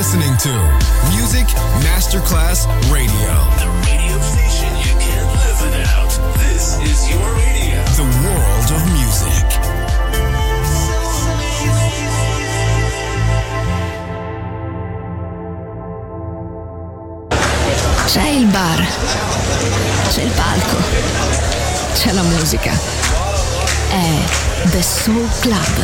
listening to Music Masterclass Radio. The radio station you can't live without. This is your radio. The world of music. C'è il bar, c'è il palco, c'è la musica. È The Soul Club.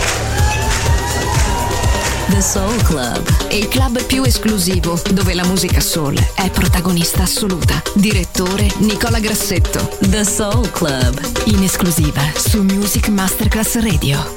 The Soul Club, il club più esclusivo dove la musica soul è protagonista assoluta. Direttore Nicola Grassetto. The Soul Club, in esclusiva su Music Masterclass Radio.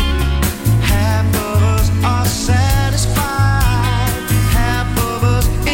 Half of us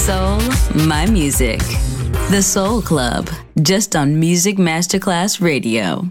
soul, my music. The Soul Club, just on Music Masterclass Radio.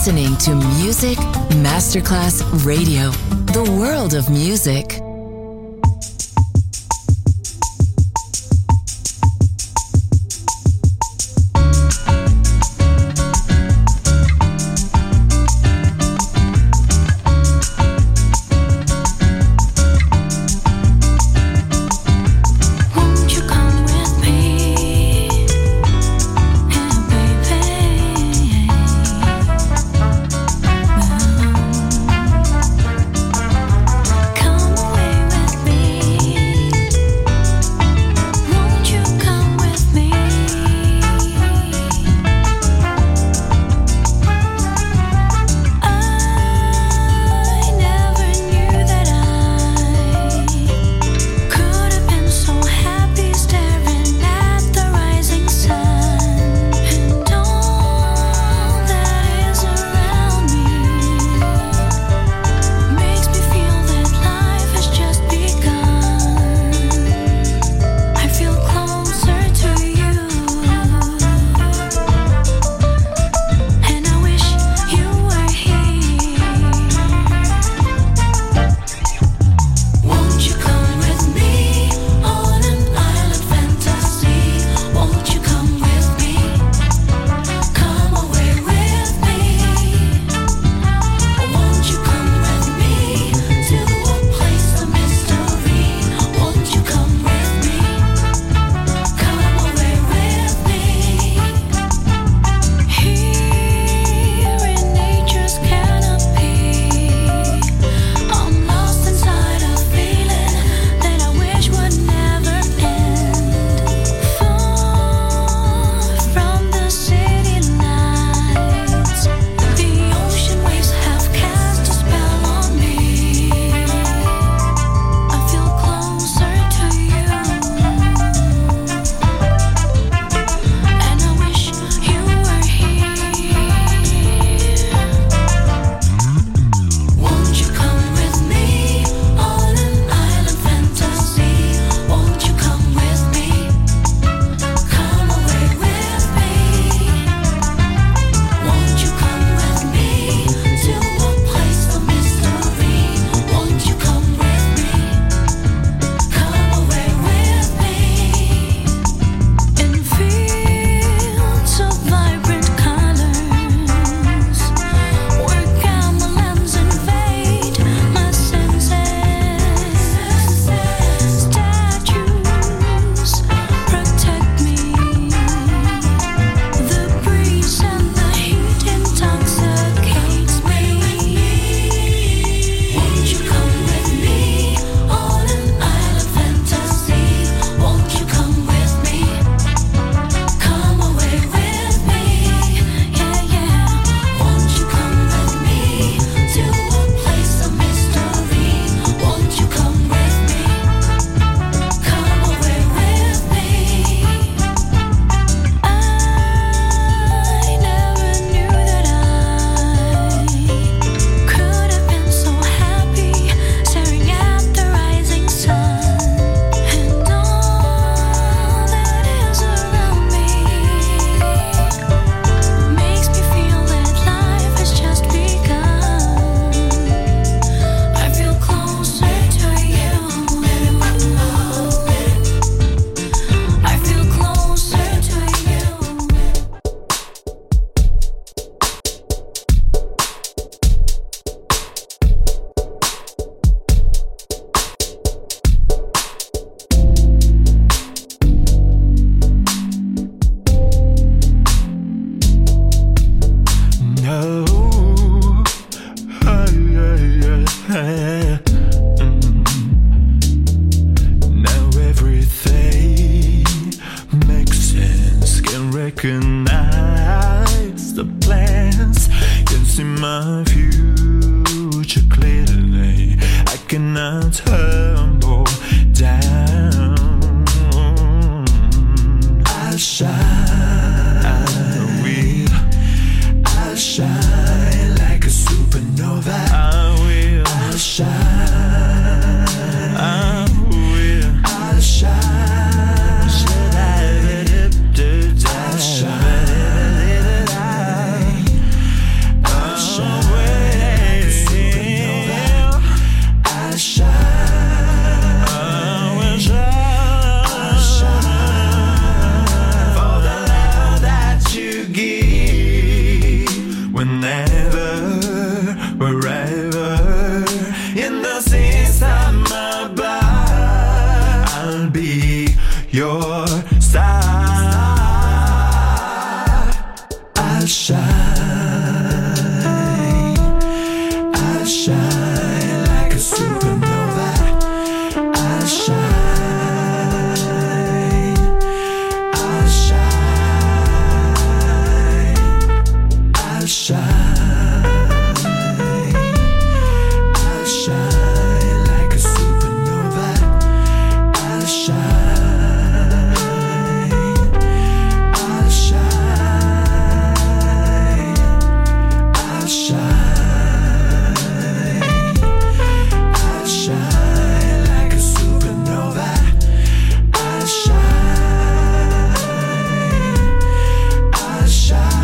listening to Music Masterclass Radio, the world of music. recognize the plans, can see my future clearly. I cannot humble down. I'll shine, I will. I'll shine like a supernova. I will. I'll shine, I will. I'll shine. I'll shine like a supernova. I'll shine. I'll shine. I'll shine. I'll shine like a supernova. I'll shine. I'll shine.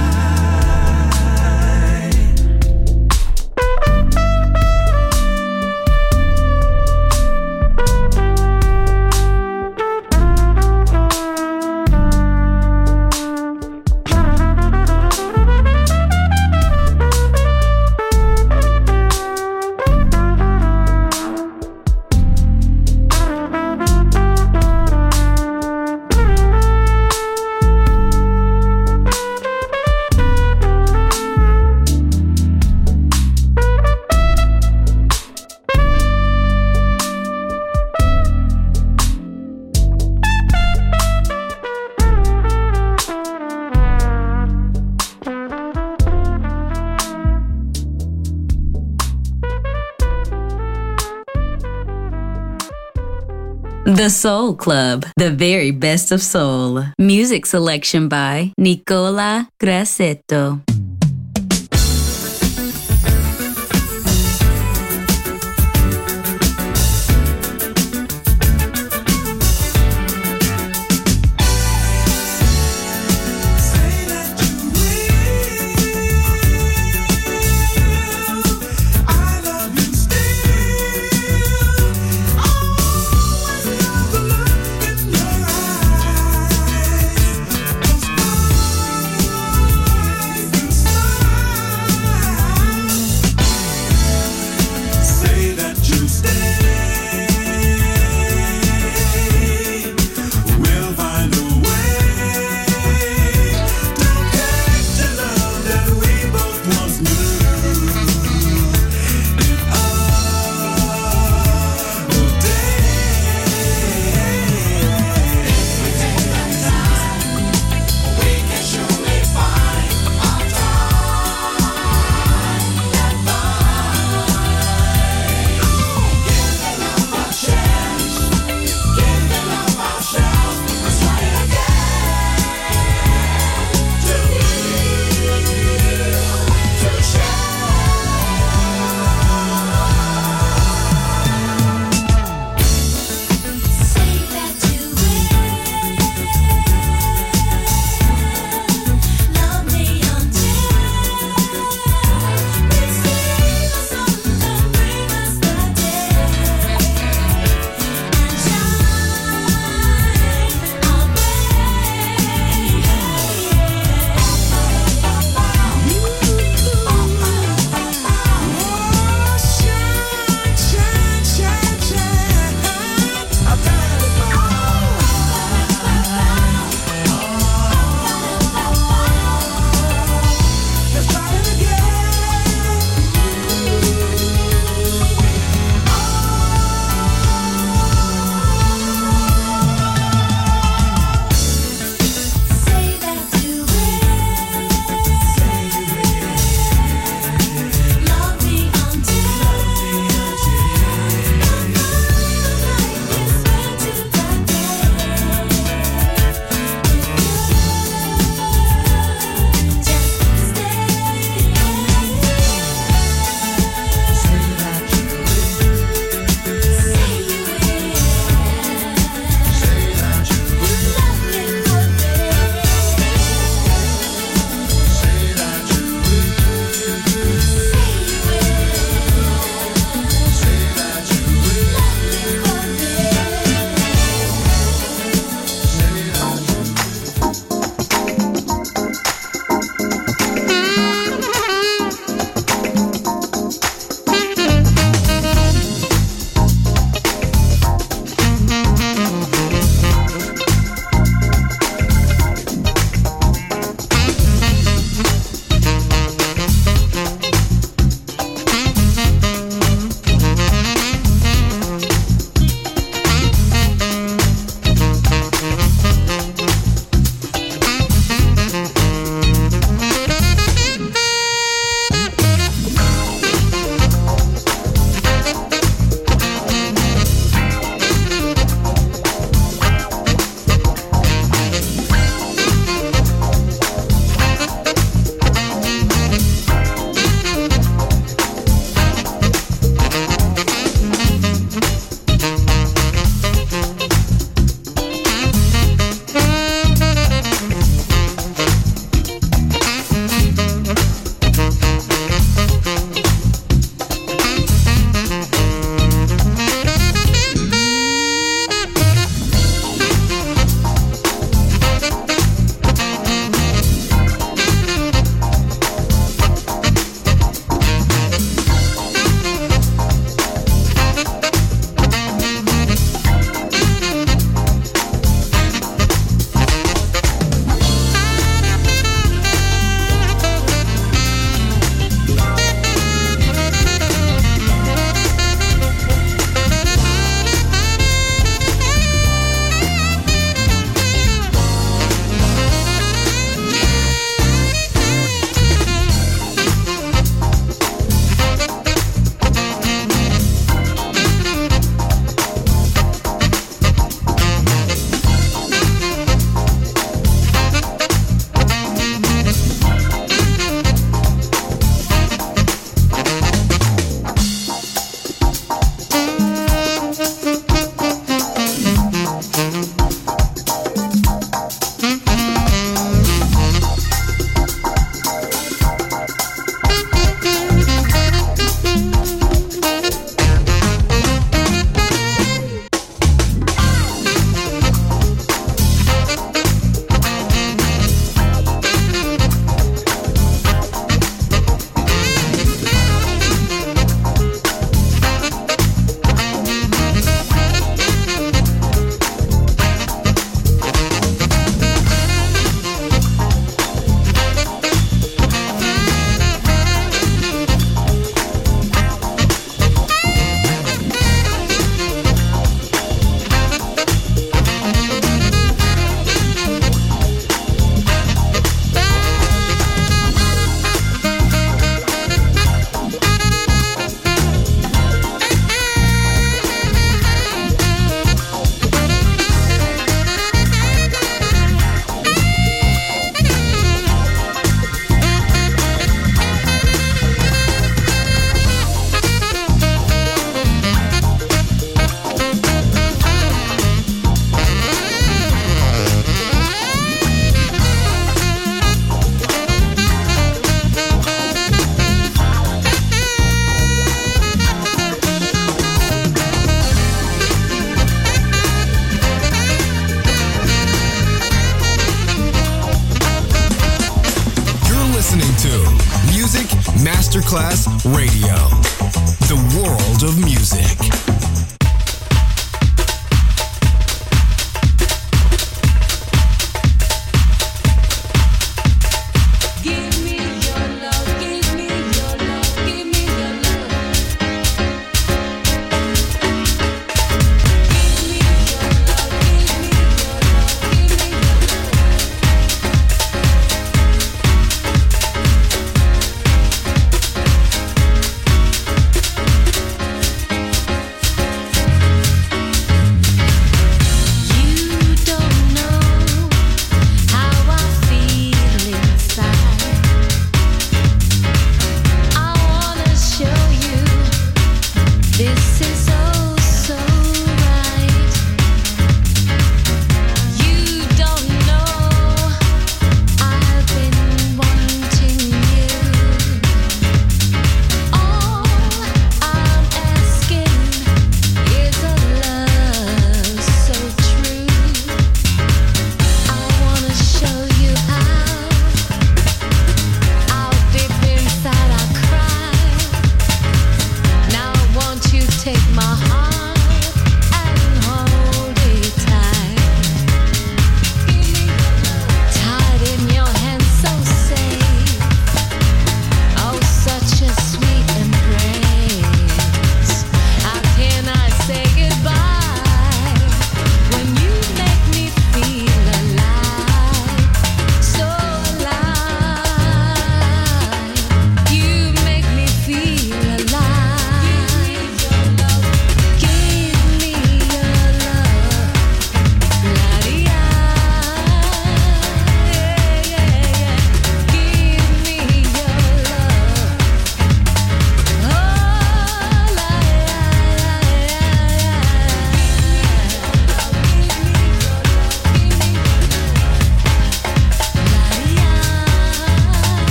The Soul Club, the very best of soul. Music selection by Nicola Grassetto. Inside Masterclass Radio. The world of music.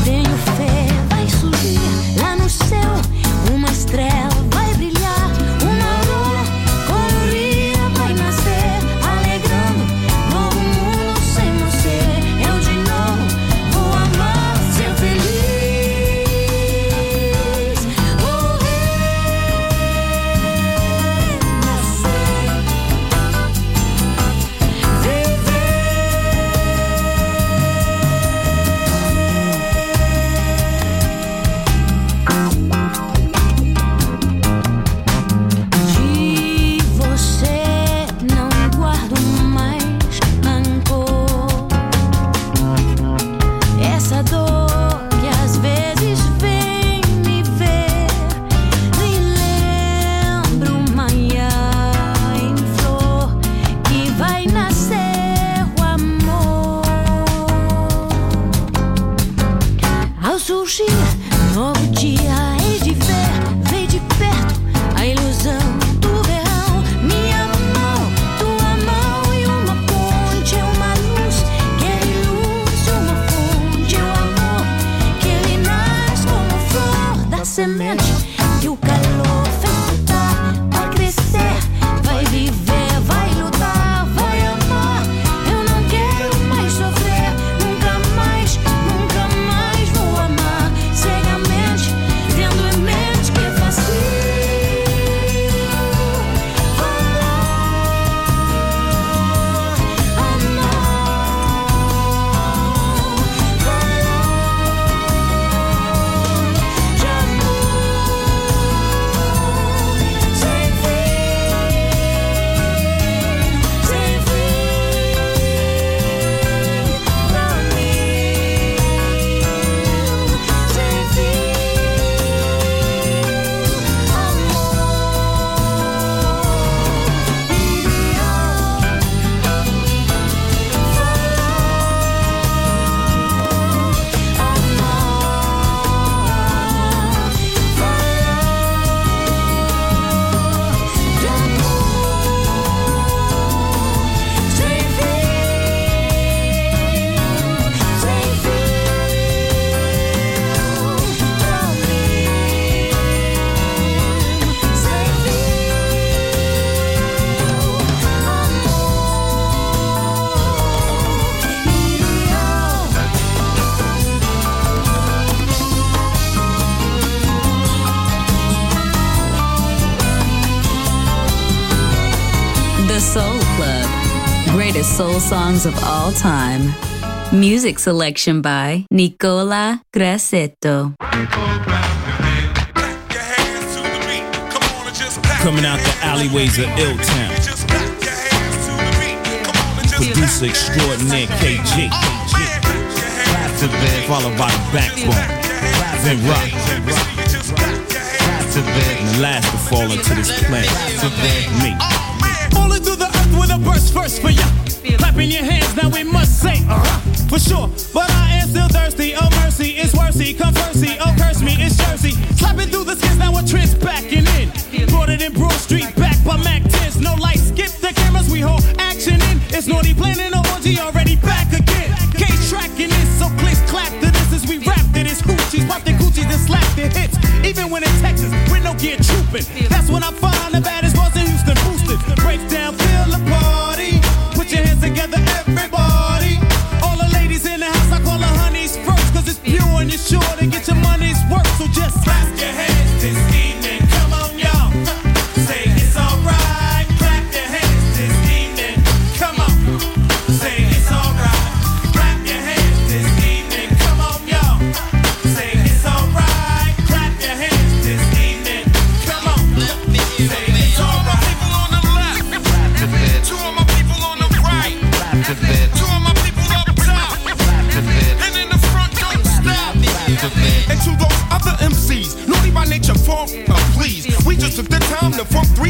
tenho fé, vai surgir lá no céu uma estrela, vai brilhar uma aurora colorida, vai nascer alegrando novo mundo sem você. Eu de novo vou amar, ser feliz. Oh, de você não guardo mais rancor. Essa dor que às vezes vem me ver, me lembra uma em flor que vai nascer o amor. Ao surgir novo dia, hei de ver, vem de perto a ilusão do verão. Minha mão, tua mão e uma ponte, uma luz que ilumina, uma fonte, o amor que ele nasce como flor da semente que o calor fez brotar, vai crescer, vai viver, vai lutar, vai amar. Eu não quero mais sofrer, nunca mais vou amar cegamente, tendo em mente que é fácil The Soul Club. Greatest soul songs of all time. Music selection by Nicola Grassetto. Coming out the alleyways of Ill-Town. Producer extraordinaire KG. Followed by the Backbone. Then Rock. And the last to fall into this planet. Me. Falling through the earth with a burst first for ya. Clapping your hands, now we must say, for sure. But I am still thirsty. Oh mercy, it's worthy. Come mercy, oh curse me, it's Jersey. Slapping through the skins, now we're trends backing in. Brought it in Broad Street, back by Mac 10s. No lights, skip the cameras, we hold action in. It's naughty planning, no orgy, already back again. Case tracking this, so please clap to this as we rap to this. Hoochies, pop their coochies and slap their hits. Even when in Texas, with no gear trooping. That's when I find the baddest boys in Houston boosted. Break down, feel the party. Put your hands together, everybody. All the ladies in the house, I call the honeys first. Cause it's pure and you're sure to get your money's worth. So just clap your hands this evening. Come on, y'all. Say it's alright. Clap your hands this evening. Come on. Say it's alright. Clap your hands this evening. Come on, y'all. Say it's alright. Clap your hands this evening. Come on.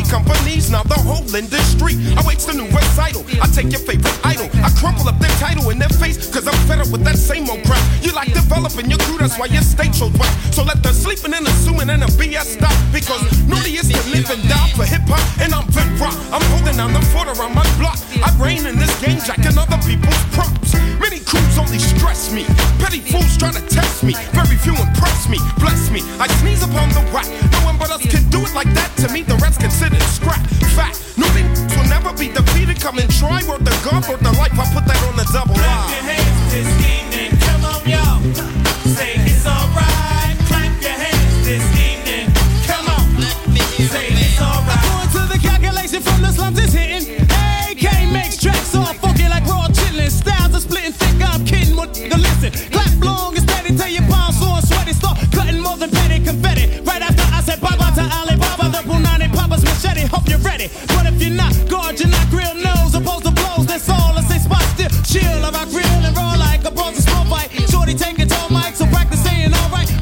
companies, now the whole industry. I waste the new recital, I take your favorite idol, I crumple up their title in their face, cause I'm fed up with that same old crap. You like developing your crew, that's why your state shows whack. So let the sleeping and assuming and the BS stop, because nobody is to live and die for hip-hop, and I'm Vin Rock. I'm holding down the fort around my block. I reign in this game, jacking other people's props. Many crews only stress me, petty fools try to test me, very few impress me, bless me. I sneeze upon the whack, no one but us can do it like that. To me, the rest considered scrap. Fact, nobody will never be defeated. Come and try, worth the God, worth the life. I put that on the double line. Clap your hands this evening, come on y'all. Say it's alright. Clap your hands this evening, come on. Say it's alright. According to the calculation from the slums, it's hitting. AK makes tracks all funky like raw chillin'. Styles are splitting thick, I'm kidding. What the listen? Clap long and steady till your palms sore and sweaty. Start cutting more than petty confetti. Right after I said bye bye to Alibaba, the Punani Papa's machete. Hope you're ready. But if you're not, guard your not grill nose. Opposed to blows, that's all. I say spot still chill. I rock real and roll like a bronze small fight. Shorty taking tall mic, so practice saying alright.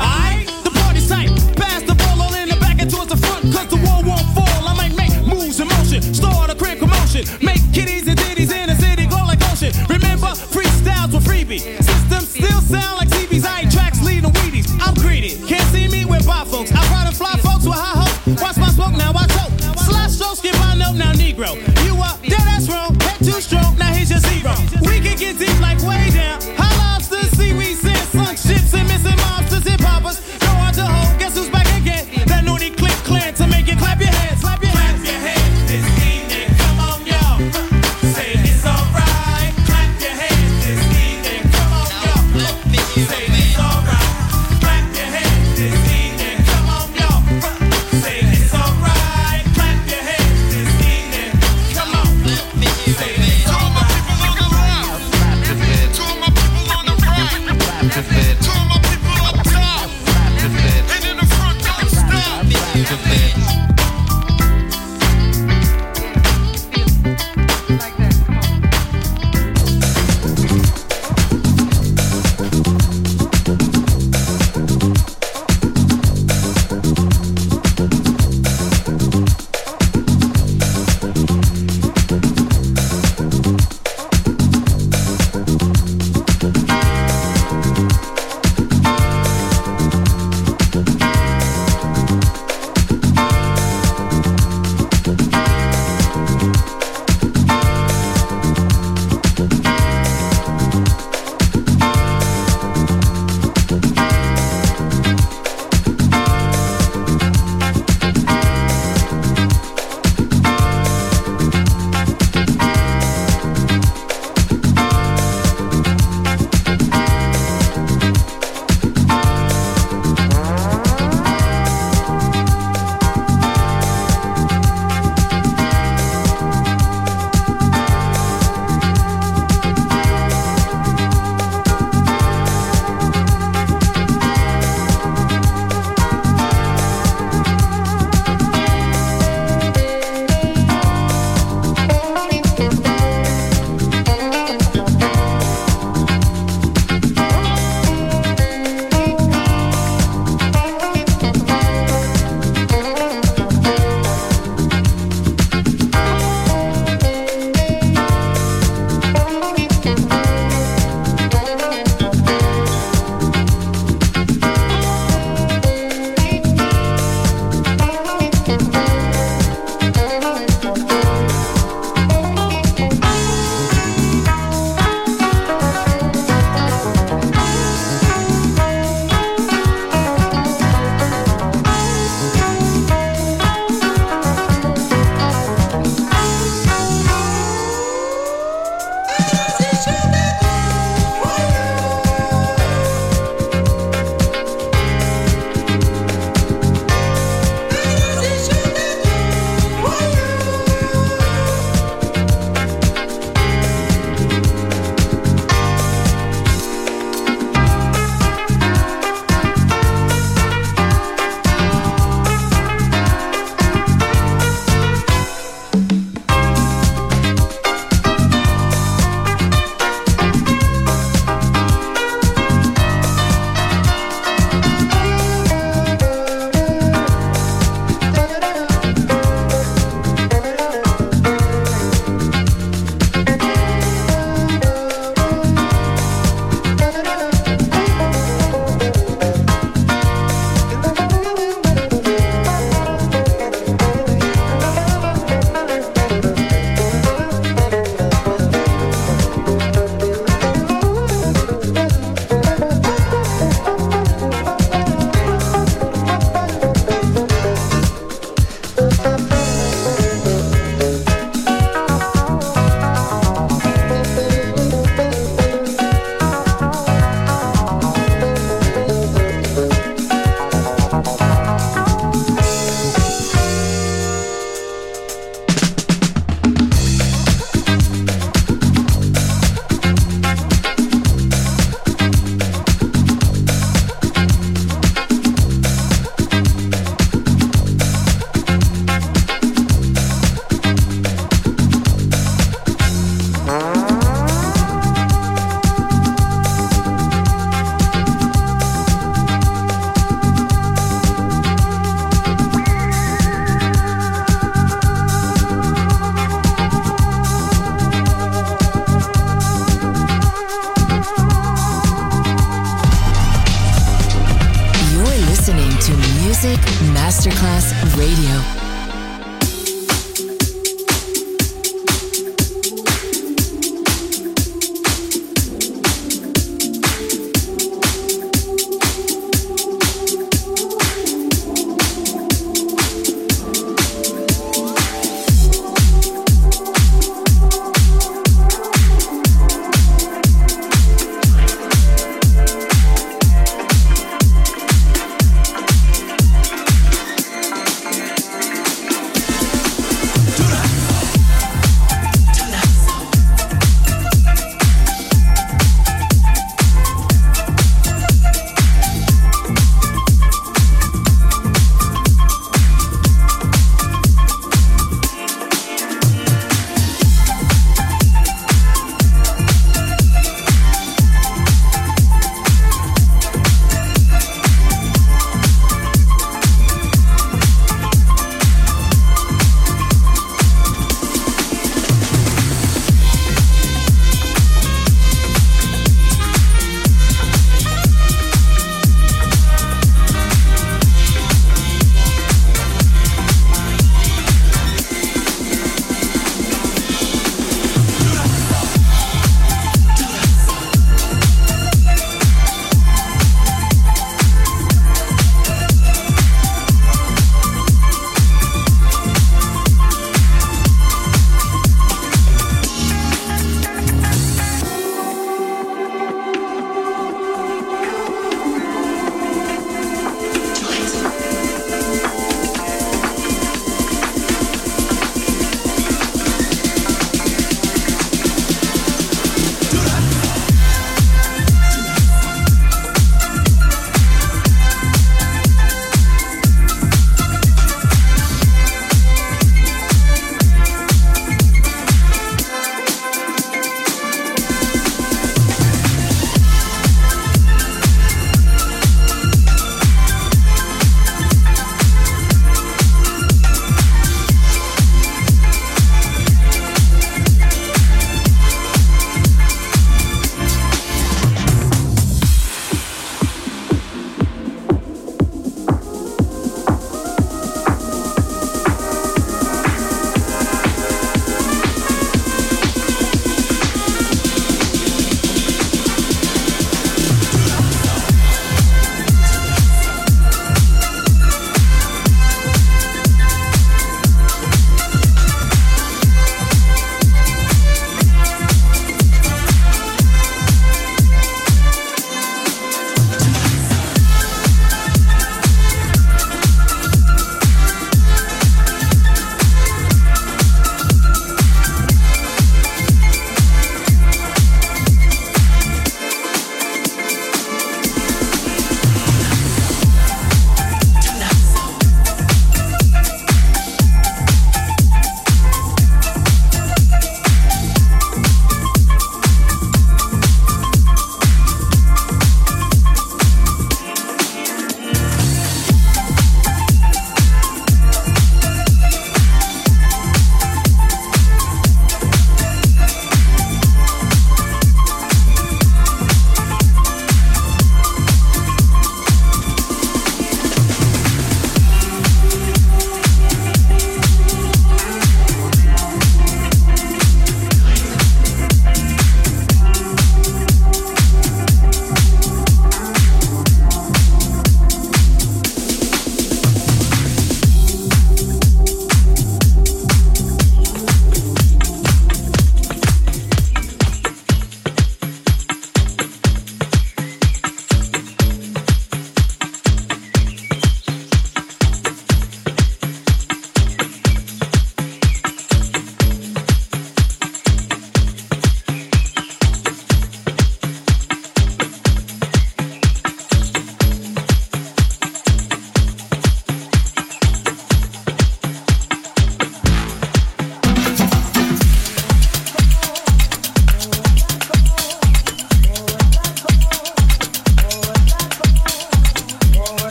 Music Masterclass Radio.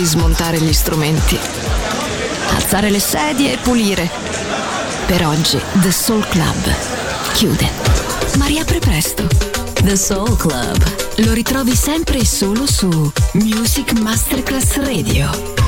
smontare gli strumenti, alzare le sedie e pulire. Per oggi The Soul Club chiude, ma riapre presto. The Soul Club Lo ritrovi sempre e solo su Music Masterclass Radio.